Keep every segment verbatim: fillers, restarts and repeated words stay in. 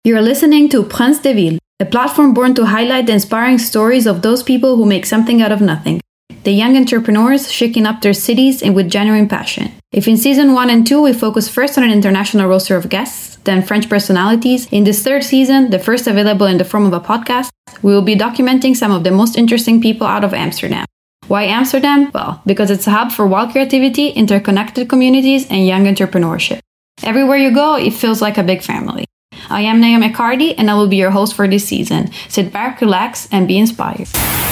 You're listening to Prince de Ville, a platform born to highlight the inspiring stories of those people who make something out of nothing. The young entrepreneurs shaking up their cities and with genuine passion. If in season one and two we focus first on an international roster of guests, then French personalities, in this third season, the first available in the form of a podcast, we will be documenting some of the most interesting people out of Amsterdam. Why Amsterdam? Well, because it's a hub for wild creativity, interconnected communities, and young entrepreneurship. Everywhere you go, it feels like a big family. I am Naomi Cardi, and I will be your host for this season. Sit back, relax, and be inspired.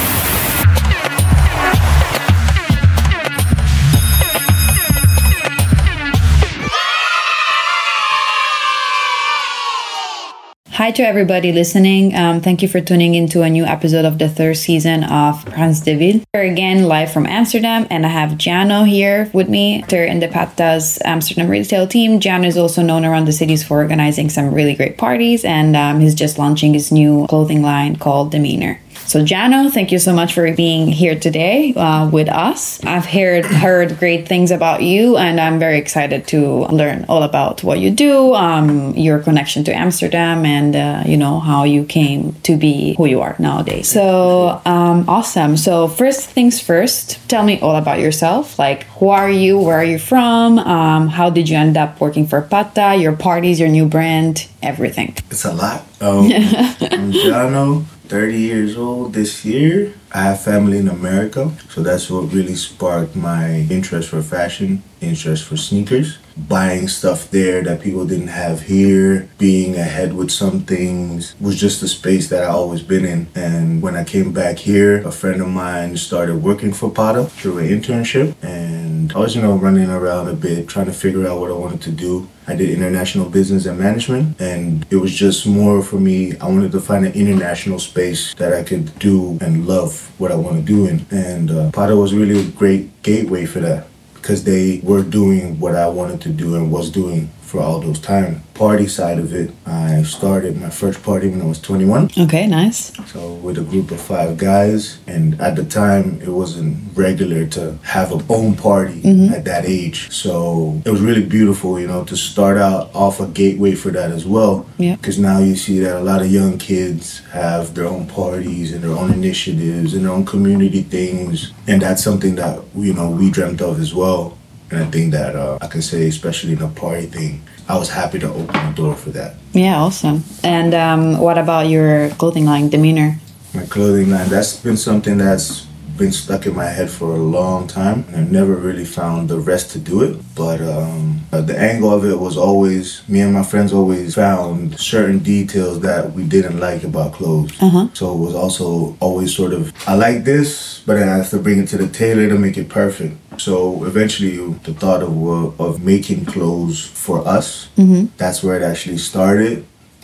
Hi to everybody listening. Um, thank you for tuning into a new episode of the third season of Prince de Ville. We're again live from Amsterdam, and I have Jano here with me. They're in the Patta's Amsterdam retail team. Jano is also known around the cities for organizing some really great parties, and um, he's just launching his new clothing line called Demeanor. So Jano, thank you so much for being here today uh, with us. I've heard heard great things about you, and I'm very excited to learn all about what you do, um, your connection to Amsterdam, and uh, you know how you came to be who you are nowadays. So um, awesome. So first things first, tell me all about yourself. Like, who are you? Where are you from? Um, how did you end up working for Patta? Your parties, your new brand, everything. It's a lot. Um, I'm Jano. thirty years old this year. I have family in America, so that's what really sparked my interest for fashion, interest for sneakers. Buying stuff there that people didn't have here, being ahead with some things was just a space that I always been in. And when I came back here, a friend of mine started working for Patta through an internship, and I was, you know, running around a bit, trying to figure out what I wanted to do. I did international business and management, and it was just more for me. I wanted to find an international space that I could do and love what I want to do in. And uh, Patta was really a great gateway for that, because they were doing what I wanted to do and was doing for all those time. Party side of it, I started my first party when I was twenty-one. Okay, nice. So with a group of five guys, and at the time it wasn't regular to have a own party mm-hmm. at that age. So it was really beautiful, you know, to start out off a gateway for that as well. Yeah. Because now you see that a lot of young kids have their own parties and their own initiatives and their own community things, and that's something that, you know, we dreamt of as well. And I think that uh, I can say, especially in the party thing, I was happy to open the door for that. Yeah, awesome. And um, what about your clothing line, Demeanor? My clothing line, that's been something that's been stuck in my head for a long time, and I've never really found the rest to do it. But um, the angle of it was always, me and my friends always found certain details that we didn't like about clothes. Uh-huh. So it was also always sort of, I like this, but then I have to bring it to the tailor to make it perfect. So eventually the thought of of making clothes for us, mm-hmm. that's where it actually started.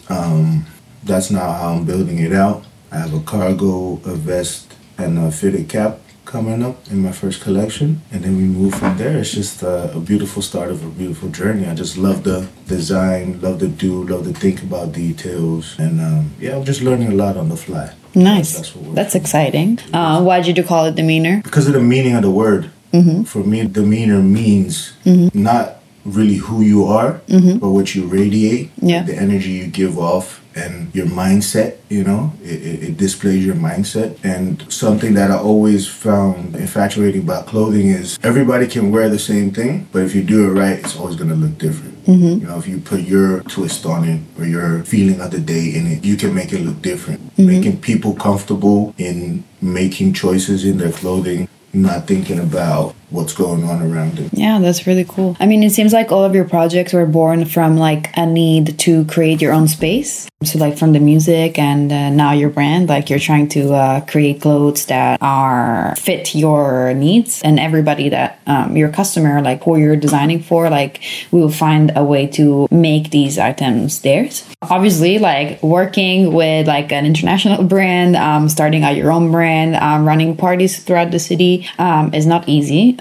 Um, that's now how I'm building it out. I have a cargo, a vest, and a fitted cap coming up in my first collection. And then we move from there. It's just a, a beautiful start of a beautiful journey. I just love the design, love to do, love to think about details. And um, yeah, I'm just learning a lot on the fly. Nice. That's, that's, that's exciting. Uh, why did you call it Demeanor? Because of the meaning of the word. Mm-hmm. For me, demeanor means mm-hmm. not really who you are, mm-hmm. but what you radiate, yeah. the energy you give off, and your mindset, you know, it, it, it displays your mindset. And something that I always found infatuating about clothing is everybody can wear the same thing, but if you do it right, it's always going to look different. Mm-hmm. You know, if you put your twist on it or your feeling of the day in it, you can make it look different. Mm-hmm. Making people comfortable in making choices in their clothing, not thinking about what's going on around it. Yeah, that's really cool. I mean, it seems like all of your projects were born from like a need to create your own space. So like from the music and uh, now your brand, like you're trying to uh, create clothes that are fit your needs, and everybody that um, your customer, like who you're designing for, like we will find a way to make these items theirs. Obviously, like working with like an international brand, um, starting out your own brand, um, running parties throughout the city um, is not easy.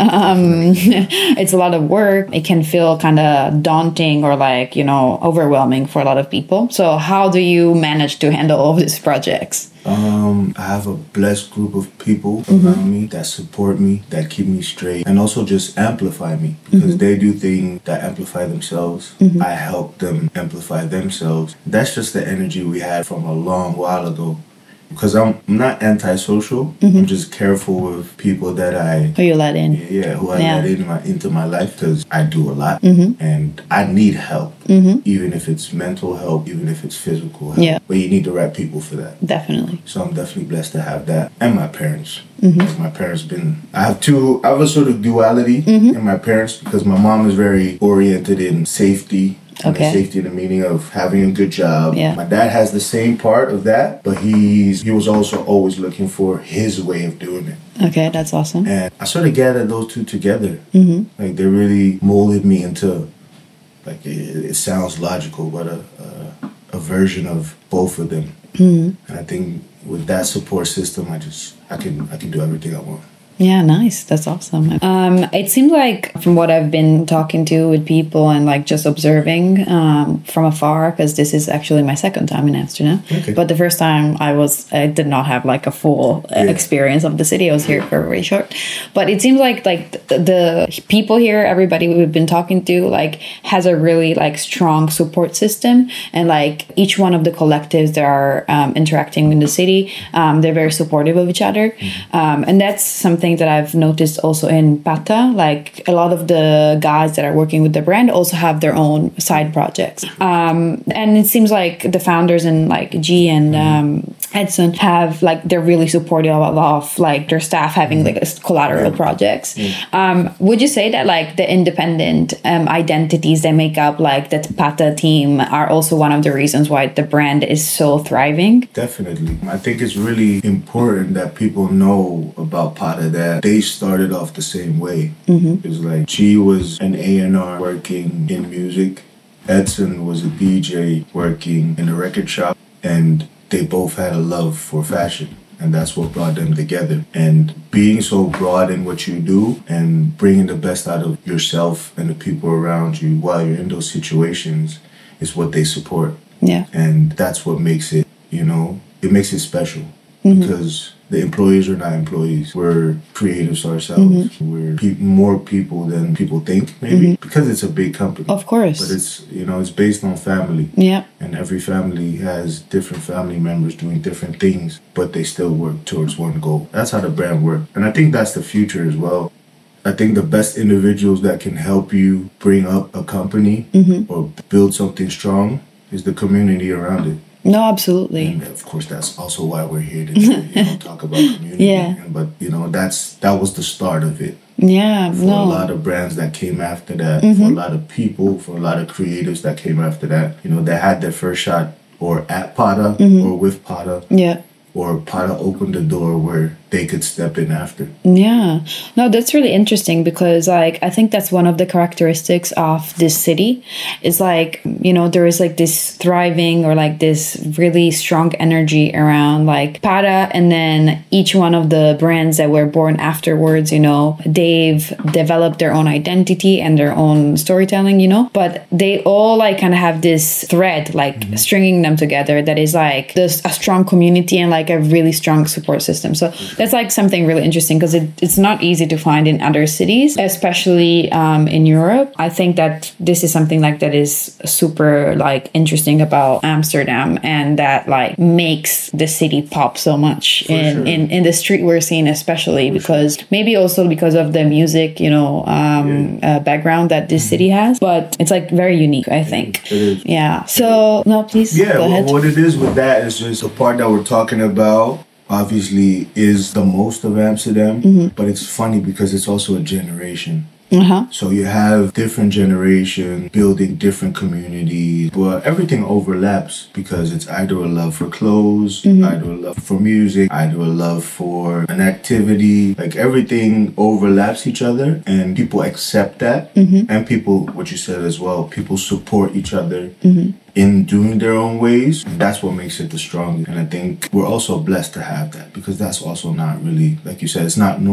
Um, it's a lot of work. It can feel kind of daunting or like, you know, overwhelming for a lot of people. So how do you manage to handle all of these projects? Um, I have a blessed group of people mm-hmm. around me that support me, that keep me straight, and also just amplify me because mm-hmm. they do things that amplify themselves. Mm-hmm. I help them amplify themselves. That's just the energy we had from a long while ago. Because I'm not antisocial. Mm-hmm. I'm just careful with people that I... Who you let in. Yeah, who I yeah. let in my, into my life because I do a lot. Mm-hmm. And I need help. Mm-hmm. Even if it's mental help, even if it's physical help. Yeah. But you need the right people for that. Definitely. So I'm definitely blessed to have that. And my parents. Mm-hmm. Like my parents been... I have two... I have a sort of duality mm-hmm. in my parents because my mom is very oriented in safety. Okay. Safety in the meaning of having a good job. Yeah. My dad has the same part of that, but he's he was also always looking for his way of doing it. Okay, that's awesome. And I sort of gathered those two together. Mm-hmm. Like they really molded me into, like it, it sounds logical, but a, a a version of both of them. Mm-hmm. And I think with that support system, I just I can I can do everything I want. Yeah, nice. That's awesome. Um, it seems like from what I've been talking to with people and like just observing um, from afar, because this is actually my second time in Amsterdam. Okay. But the first time I was, I did not have like a full yeah. experience of the city. I was here for very short. But it seems like like the, the people here, everybody we've been talking to, like has a really like strong support system, and like each one of the collectives that are um, interacting in the city, um, they're very supportive of each other, mm-hmm. um, and that's something that I've noticed also in Pata. Like a lot of the guys that are working with the brand also have their own side projects. Um, and it seems like the founders and like G and um, Edson have like, they're really supportive of like their staff having like collateral projects. Um, would you say that like the independent um, identities that make up like that Pata team are also one of the reasons why the brand is so thriving? Definitely. I think it's really important that people know about Pata, that they started off the same way. Mm-hmm. It's like G was an A and R working in music. Edson was a D J working in a record shop. And they both had a love for fashion. And that's what brought them together. And being so broad in what you do and bringing the best out of yourself and the people around you while you're in those situations is what they support. Yeah. And that's what makes it, you know, it makes it special. Mm-hmm. Because the employees are not employees. We're creatives ourselves. Mm-hmm. We're pe- more people than people think, maybe, mm-hmm. because it's a big company. Of course. But it's, you know, it's based on family. Yeah. And every family has different family members doing different things, but they still work towards one goal. That's how the brand works. And I think that's the future as well. I think the best individuals that can help you bring up a company mm-hmm. or build something strong is the community around it. No, absolutely. And of course, that's also why we're here to you know, talk about community. Yeah. But, you know, that's that was the start of it. Yeah, For no. a lot of brands that came after that, Mm-hmm. for a lot of people, for a lot of creators that came after that, you know, they had their first shot or at Pata mm-hmm. or with Pata. Yeah. Or Pata opened the door where they could step in after. Yeah. No, that's really interesting because like I think that's one of the characteristics of this city is like, you know, there is like this thriving or like this really strong energy around like Pata, and then each one of the brands that were born afterwards, you know, they've developed their own identity and their own storytelling, you know, but they all like kind of have this thread like mm-hmm. stringing them together that is like this a strong community and like a really strong support system. So that's like something really interesting because it, it's not easy to find in other cities, especially um, in Europe. I think that this is something like that is super like interesting about Amsterdam, and that like makes the city pop so much in, sure. in, in the streetwear scene, especially For because sure. maybe also because of the music, you know, um, yeah. uh, background that this mm-hmm. city has, but it's like very unique, I think. It is. Yeah. So no, please yeah, go ahead. Well, what it is with that is just the part that we're talking about. About obviously is the most of Amsterdam, mm-hmm. but it's funny because it's also a generation. Uh-huh. So you have different generations building different communities, but everything overlaps because it's either a love for clothes, mm-hmm. either a love for music, either a love for an activity. Like everything overlaps each other, and people accept that. Mm-hmm. And people, what you said as well, people support each other. Mm-hmm. in doing their own ways. That's what makes it the strongest. And I think we're also blessed to have that because that's also not really, like you said, it's not normal.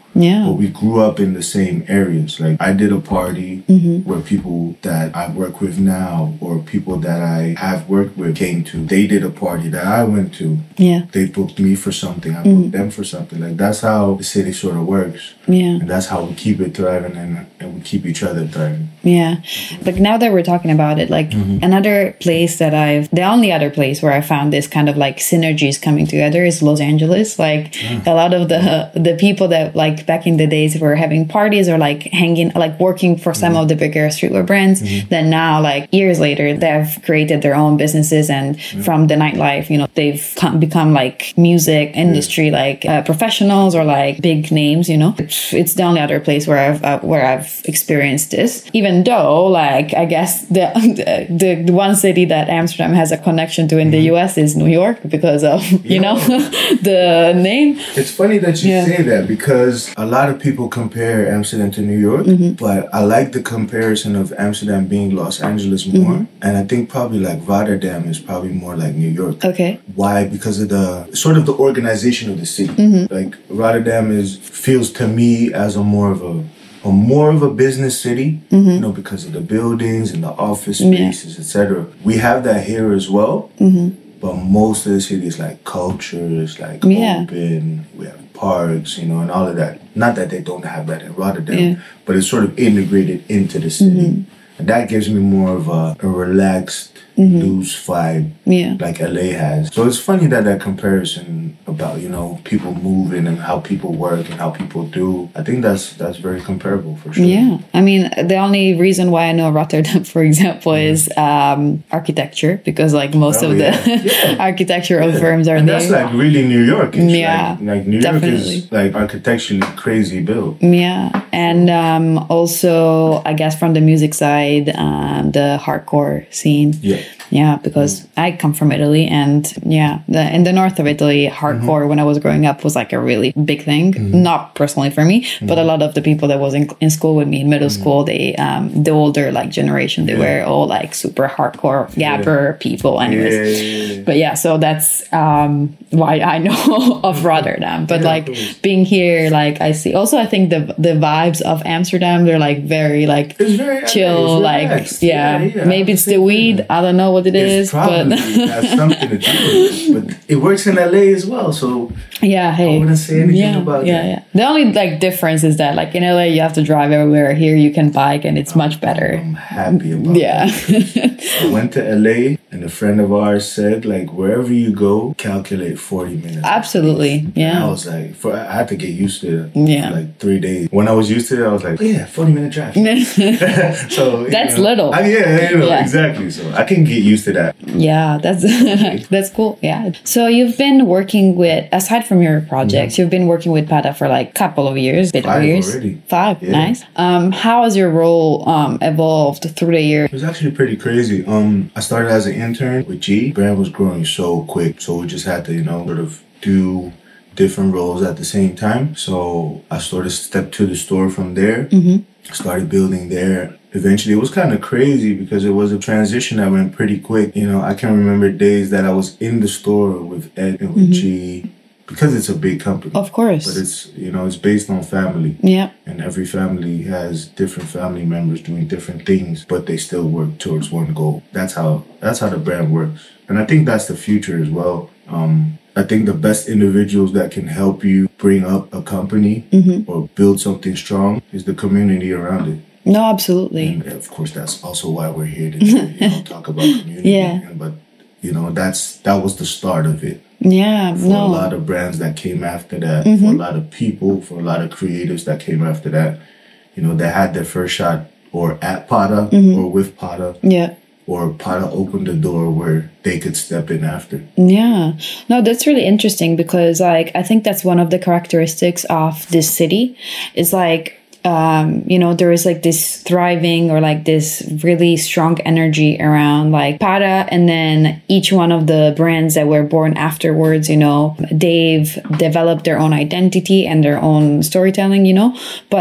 Yeah. But we grew up in the same areas. Like I did a party Mm-hmm. where people that I work with now or people that I have worked with came to. They did a party that I went to. Yeah. They booked me for something. I booked Mm-hmm. them for something. Like that's how the city sort of works. Yeah. And that's how we keep it thriving and, and we keep each other thriving. Yeah. Like now that we're talking about it, like Mm-hmm. another place that I've, the only other place where I found this kind of like synergies coming together is Los Angeles. Like a lot of the the people that like back in the days were having parties or like hanging, like working for some Mm-hmm. of the bigger streetwear brands, then now like years later, they've created their own businesses and from the nightlife, you know, they've come, become like music industry, like uh, professionals or like big names, you know. It's, it's the only other place where I've, uh, where I've experienced this, even though like, I guess the, the, the one city that Amsterdam has a connection to in the U S is New York because of, you know, the name. It's funny that you Yeah. say that because a lot of people compare Amsterdam to New York, Mm-hmm. but I like the comparison of Amsterdam being Los Angeles more. Mm-hmm. And I think probably like Rotterdam is probably more like New York. Okay. Why? Because of the sort of the organization of the city. Mm-hmm. Like Rotterdam is feels to me as a more of a a more of a business city, Mm-hmm. you know, because of the buildings and the office Yeah. spaces, et cetera. We have that here as well. Mm-hmm. But most of the city is like culture, it's like Yeah. open, we have parks, you know, and all of that. Not that they don't have that in Rotterdam, Yeah. but it's sort of integrated into the city. And that gives me more of a, a relaxed, loose vibe Yeah. like L A has. So it's funny that that comparison about, you know, people moving and how people work and how people do, I think that's that's very comparable for sure. Yeah. I mean, the only reason why I know Rotterdam, for example, is um, architecture, because like most Oh, of yeah. the Yeah. architectural Yeah. firms are and there. that's like really New York. Yeah, like, like New York definitely. is like architecturally crazy built. Yeah. And um, also, I guess from the music side, um, the hardcore scene. Yeah. Yeah, because I come from Italy, and yeah, the, in the north of Italy, hardcore when I was growing up was like a really big thing. Not personally for me, but a lot of the people that was in, in school with me in middle school, they um, the older like generation, they were all like super hardcore gabber people, anyways. Yeah, yeah, yeah. But yeah, so that's um, why I know of Rotterdam. But Yeah, like of course. being here, like I see. Also, I think the the vibes of Amsterdam, they're like very like It's very chill. it's Like relaxed. yeah, yeah, maybe it's the weed. I don't know what it is, It's probably but has something to do with it. But it works in L A as well, so yeah, hey, I wouldn't say anything yeah, about yeah, that. yeah. The only like difference is that like in L A you have to drive everywhere. Here you can bike, and it's much better. I'm happy about Yeah. it. I went to L A and a friend of ours said, like, wherever you go, calculate forty minutes. Absolutely. And I Yeah. was like, for, I had to get used to it Yeah. for like three days. When I was used to it, I was like, oh, yeah, forty minute drive. so you That's know, little. I, yeah, you know, Yeah. exactly. So I can get used to that. Yeah, that's that's cool. Yeah. So you've been working with, aside from your projects, you've been working with Pada for like a couple of years, bit of Five years. already. Five. Yeah. Nice. Um, how has your role um evolved through the years? It was actually pretty crazy. Um, I started as an intern with G. Brand was growing so quick, so we just had to, you know, sort of do different roles at the same time. So I sort of stepped to the store from there, started building there. Eventually, it was kind of crazy because it was a transition that went pretty quick. You know, I can remember days that I was in the store with Ed and with G, because it's a big company. Of course. But it's, you know, it's based on family. Yeah. And every family has different family members doing different things, but they still work towards one goal. That's how that's how the brand works. And I think that's the future as well. Um, I think the best individuals that can help you bring up a company or build something strong is the community around it. No, absolutely. And of course, that's also why we're here to you know, talk about community. Yeah. But you know, that's that was the start of it. Yeah. For no. a lot of brands that came after that, Mm-hmm. for a lot of people, for a lot of creatives that came after that, you know, they had their first shot or at Pada Mm-hmm. or with Pada, Yeah. or Pada opened the door where they could step in after. Yeah. No, that's really interesting because like I think that's one of the characteristics of this city. Is like um, you know, there is like this thriving or like this really strong energy around like Pada, and then each one of the brands that were born afterwards, you know, they've developed their own identity and their own storytelling, you know, but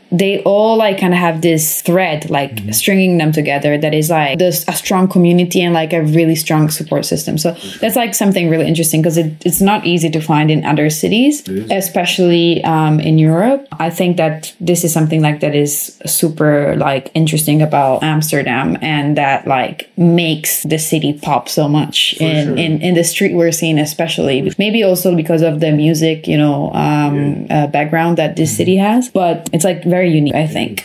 they all like kind of have this thread like mm-hmm. stringing them together that is like this a strong community and like a really strong support system. So that's like something really interesting because it, it's not easy to find in other cities, especially um, in Europe. I think that this is something like that is super like interesting about Amsterdam, and that like makes the city pop so much in, sure. in in the streetwear scene, especially. Maybe also because of the music, you know, um, yeah. uh, background that this mm-hmm. city has, but it's like very unique, I think.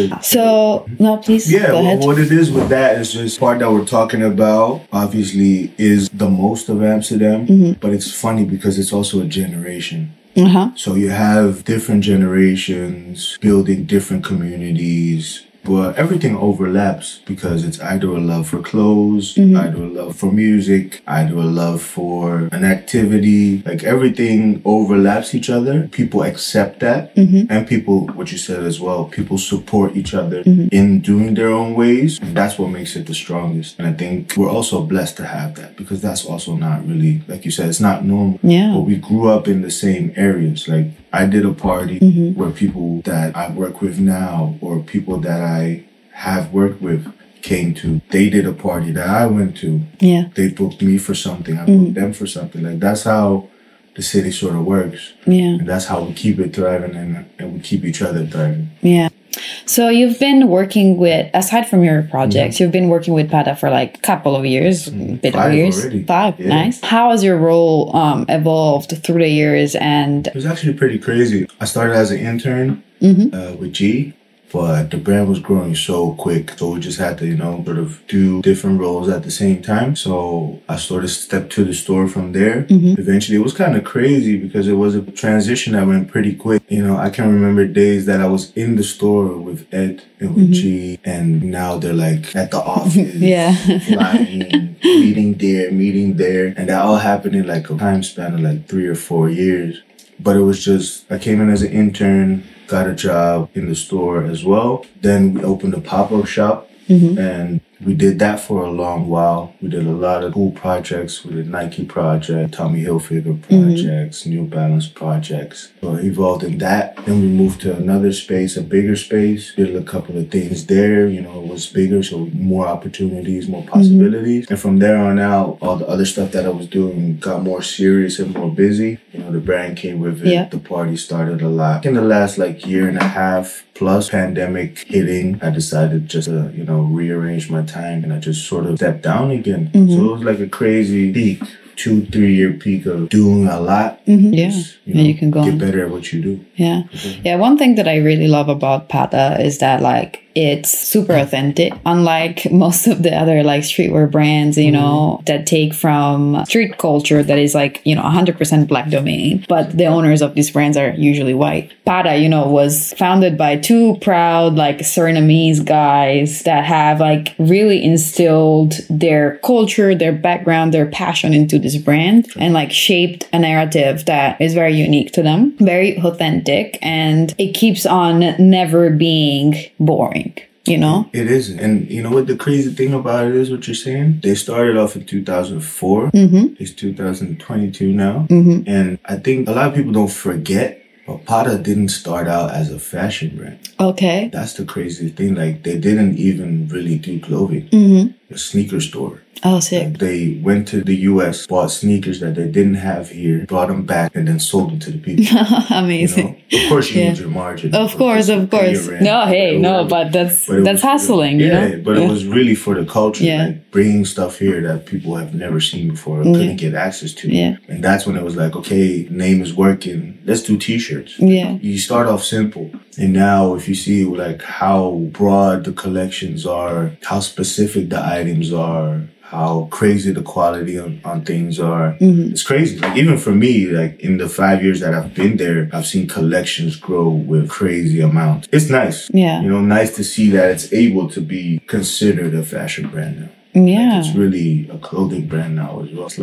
So, no, please yeah, go ahead. Well, what it is with that is just part that we're talking about, obviously, is the most of Amsterdam, mm-hmm. but it's funny because it's also a generation. Uh-huh. So you have different generations building different communities, but everything overlaps because it's either a love for clothes, mm-hmm. either a love for music, either a love for an activity. Like everything overlaps each other. People accept that. Mm-hmm. And people, what you said as well, people support each other mm-hmm. in doing their own ways. And that's what makes it the strongest. And I think we're also blessed to have that because that's also not really, like you said, it's not normal. Yeah. But we grew up in the same areas. Like I did a party mm-hmm. where people that I work with now or people that I have worked with came to. They did a party that I went to. Yeah. They booked me for something. I booked mm-hmm. them for something. Like that's how the city sort of works. Yeah. And that's how we keep it thriving and, and we keep each other thriving. Yeah. So you've been working with, aside from your projects, mm-hmm. you've been working with Pata for like a couple of years, mm-hmm. bit Five of years. Already. Five, yeah. Nice. How has your role um, evolved through the years? And it was actually pretty crazy. I started as an intern mm-hmm. uh, with G. But the brand was growing so quick. So we just had to, you know, sort of do different roles at the same time. So I sort of stepped to the store from there. Mm-hmm. Eventually, it was kind of crazy because it was a transition that went pretty quick. You know, I can remember days that I was in the store with Ed and with mm-hmm. G. And now they're like at the office. yeah. Flying, meeting there, meeting there. And that all happened in like a time span of like three or four years. But it was just, I came in as an intern, got a job in the store as well. Then we opened a pop-up shop mm-hmm. and we did that for a long while. We did a lot of cool projects. We did Nike project, Tommy Hilfiger projects, mm-hmm. New Balance projects. So I evolved in that. Then we moved to another space, a bigger space. Did a couple of things there. You know, it was bigger, so more opportunities, more possibilities. Mm-hmm. And from there on out, all the other stuff that I was doing got more serious and more busy. You know, the brand came with it. Yeah. The party started a lot. In the last like year and a half plus pandemic hitting, I decided just to, you know, rearrange my time and I just sort of stepped down again. Mm-hmm. So it was like a crazy peak, two, three year peak of doing a lot. Mm-hmm. Yeah. Just, you know, and you can go get on. better at what you do. Yeah. Okay. Yeah. One thing that I really love about Pata is that like it's super authentic, unlike most of the other like streetwear brands, you know, mm-hmm. that take from street culture that is like, you know, one hundred percent black domain, but the owners of these brands are usually white. Pata, you know, was founded by two proud like Surinamese guys that have like really instilled their culture, their background, their passion into this brand and like shaped a narrative that is very unique to them, very authentic, and it keeps on never being boring. You know? It isn't. And you know what the crazy thing about it is, what you're saying? They started off in two thousand four. Mm-hmm. It's two thousand twenty-two now. Mm-hmm. And I think a lot of people don't forget, but Pata didn't start out as a fashion brand. Okay. That's the crazy thing. Like, they didn't even really do clothing. Mm-hmm. A sneaker store. Oh, sick. Like, they went to the U S, bought sneakers that they didn't have here, brought them back, and then sold them to the people. Amazing. You know? Of course, you yeah. need your margin. Of course, of course. No, hey, no, but that's but that's was, hustling, yeah, you know? But yeah. it was really for the culture, yeah. like bringing stuff here that people have never seen before or mm-hmm. couldn't get access to. Yeah. And that's when it was like, okay, name is working. Let's do t-shirts. Yeah. You start off simple. And now if you see like how broad the collections are, how specific the items are, how crazy the quality on, on things are. Mm-hmm. It's crazy. Like even for me, like in the five years that I've been there, I've seen collections grow with crazy amounts. It's nice. Yeah. You know, nice to see that it's able to be considered a fashion brand now. Yeah. Like it's really a clothing brand now as well. It's lovely.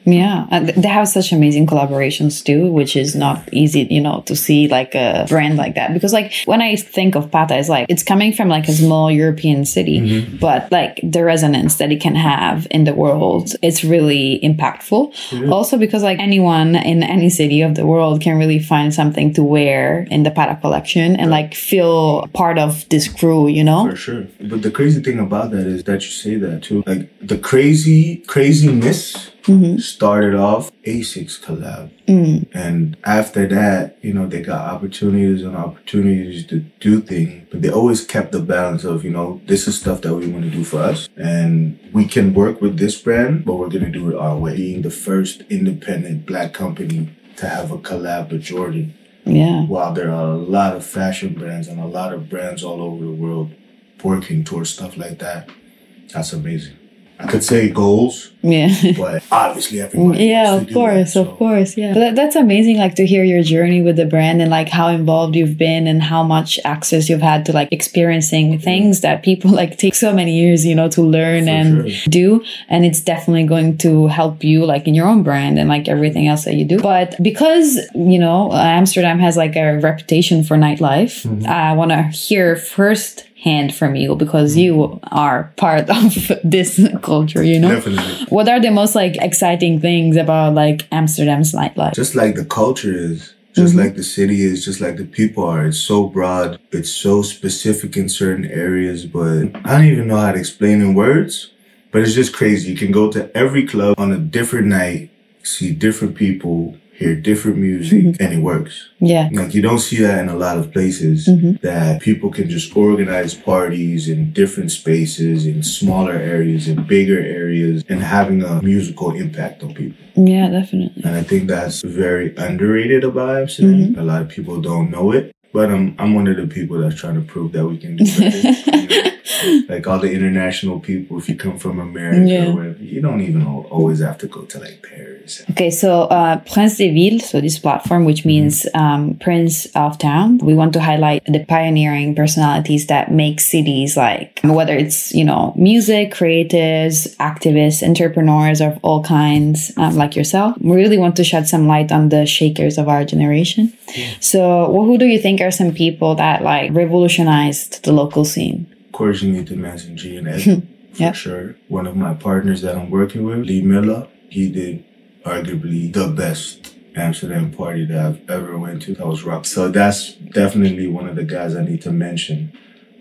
Yeah, and they have such amazing collaborations too, which is not easy, you know, to see like a brand like that. Because like when I think of Pata, it's like it's coming from like a small European city, mm-hmm. but like the resonance that it can have in the world, it's really impactful. Mm-hmm. Also because like anyone in any city of the world can really find something to wear in the Pata collection and like feel part of this crew, you know? For sure. But the crazy thing about that is that you say that too. Like the crazy, craziness Mm-hmm. started off Asics collab. Mm. And after that, you know, they got opportunities and opportunities to do things. But they always kept the balance of, you know, this is stuff that we want to do for us. And we can work with this brand, but we're going to do it our way. Being the first independent black company to have a collab with Jordan. Yeah. While there are a lot of fashion brands and a lot of brands all over the world working towards stuff like that. That's amazing. I could say goals, yeah, but obviously everybody yeah, wants of to course, do that, so. of course, yeah. But that, that's amazing, like to hear your journey with the brand and like how involved you've been and how much access you've had to like experiencing things that people like take so many years, you know, to learn For and sure. do. And it's definitely going to help you like in your own brand and like everything else that you do. But because, you know, Amsterdam has like a reputation for nightlife, mm-hmm. I want to hear first hand from you because you are part of this culture, you know? Definitely. What are the most like exciting things about like Amsterdam's nightlife? Just like the culture is, just mm-hmm. like the city is, just like the people are. It's so broad. It's so specific in certain areas, but I don't even know how to explain in words, but it's just crazy. You can go to every club on a different night, see different people, hear different music, mm-hmm. and it works. Yeah. Like you don't see that in a lot of places mm-hmm. that people can just organize parties in different spaces, in smaller areas, in bigger areas, and having a musical impact on people. Yeah, definitely. And I think that's very underrated about Amsterdam. Mm-hmm. A lot of people don't know it. But I'm I'm one of the people that's trying to prove that we can do better. You know? Like all the international people, if you come from America yeah. or whatever, you don't even always have to go to like Paris. Okay, so uh, Prince des Villes, so this platform, which means mm-hmm. um, Prince of Town, we want to highlight the pioneering personalities that make cities like, whether it's, you know, music, creatives, activists, entrepreneurs of all kinds, um, like yourself. We really want to shed some light on the shakers of our generation. Yeah. So well, who do you think are some people that like revolutionized the local scene? Of course, you need to mention G and Ed, for yep. sure. One of my partners that I'm working with, Lee Miller, he did arguably the best Amsterdam party that I've ever went to. That was rock. So that's definitely one of the guys I need to mention.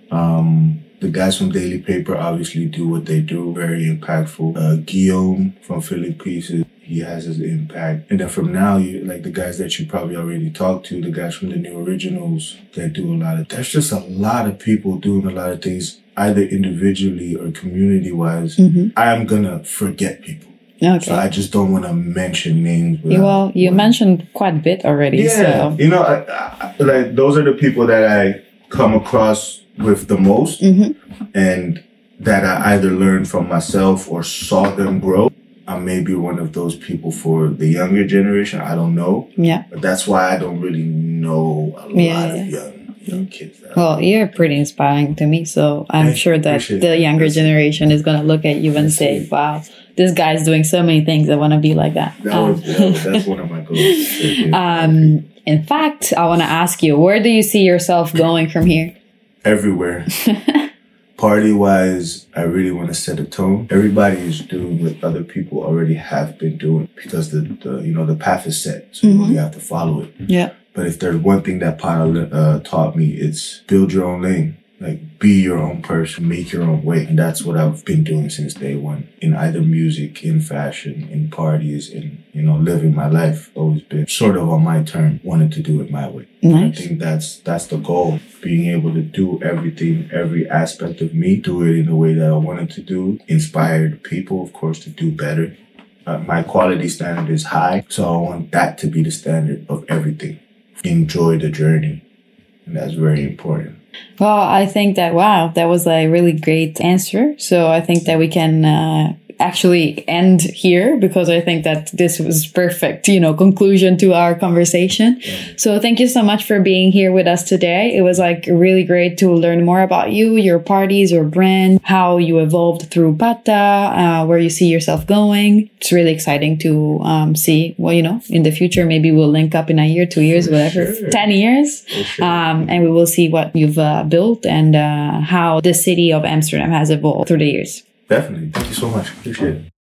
Um, the guys from Daily Paper obviously do what they do, very impactful. Uh, Guillaume from Philly Pieces, he has his impact. And then from now, you like the guys that you probably already talked to, the guys from the New Originals that do a lot of, there's just a lot of people doing a lot of things, either individually or community-wise. Mm-hmm. I'm gonna forget people. Okay. So I just don't want to mention names. Well, you mentioned quite a bit already. Yeah. So. You know, I, I, like those are the people that I come across with the most mm-hmm. and that I either learned from myself or saw them grow. I may be one of those people for the younger generation. I don't know. Yeah. But that's why I don't really know a yeah, lot yeah. of young young kids. Well, you're pretty inspiring to me. So I'm I sure that the younger that. generation is going to look at you and say, wow, this guy's doing so many things. I want to be like that. that, was, um, that was, that's one of my goals. um, in fact, I want to ask you, where do you see yourself going from here? Everywhere. Party-wise, I really want to set a tone. Everybody is doing what other people already have been doing because the, the you know, the path is set. So mm-hmm. you only have to follow it. Yeah. But if there's one thing that Pata uh, taught me, it's build your own lane. Like, be your own person, make your own way. And that's what I've been doing since day one. In either music, in fashion, in parties, in, you know, living my life. Always been sort of on my turn, wanting to do it my way. Nice. I think that's that's the goal. Being able to do everything, every aspect of me, do it in the way that I wanted to do. Inspired people, of course, to do better. Uh, my quality standard is high, so I want that to be the standard of everything. Enjoy the journey. And that's very important. Well, I think that, wow, that was a really great answer. So I think that we can uh, actually end here because I think that this was perfect, you know, conclusion to our conversation. Yeah. So thank you so much for being here with us today. It was like really great to learn more about you, your parties, your brand, how you evolved through Pata, uh, where you see yourself going. It's really exciting to um, see, well, you know, in the future, maybe we'll link up in a year, two years, For whatever, sure. ten years. Sure. Um, and we will see what you've uh, built and uh, how the city of Amsterdam has evolved through the years. Definitely. Thank you so much. Appreciate it.